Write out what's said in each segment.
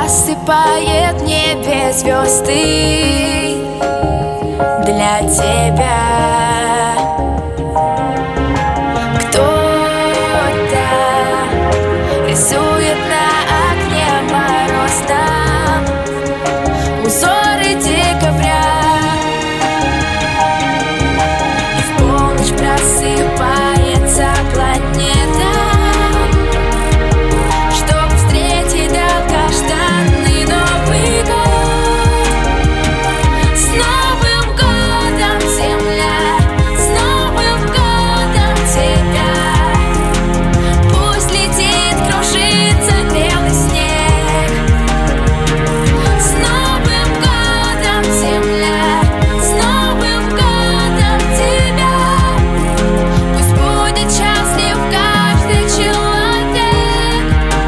осыпает небе звезды для тебя. Кто-то рисует на окне морозном узоры декабря, и в полночь просыпается планета, чтоб встретить долгожданный Новый год. С Новым годом, земля, с Новым годом тебя! Пусть летит, кружится белый снег. С Новым годом, земля, с Новым годом тебя! Пусть будет счастлив каждый человек.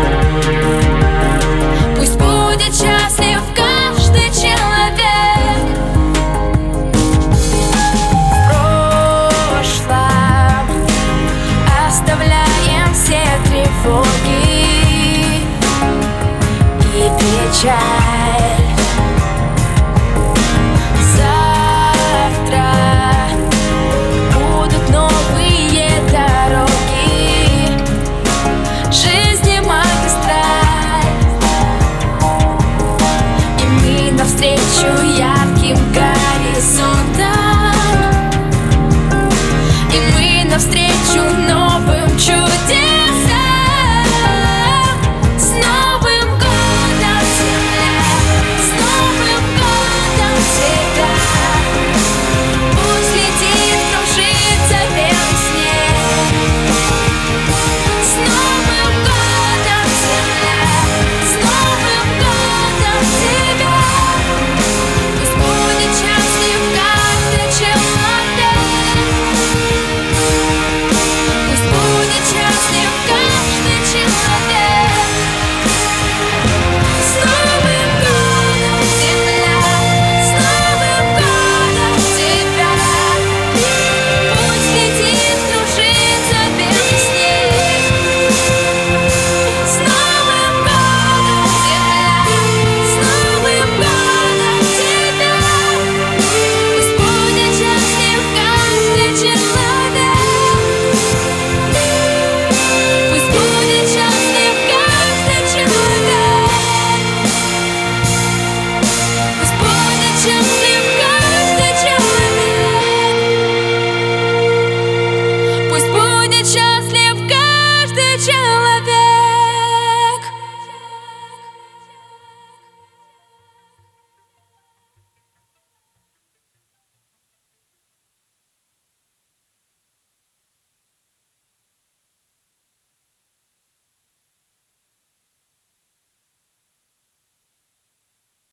Пусть будет счастлив каждый человек. В прошлом оставляем все тревоги и печаль.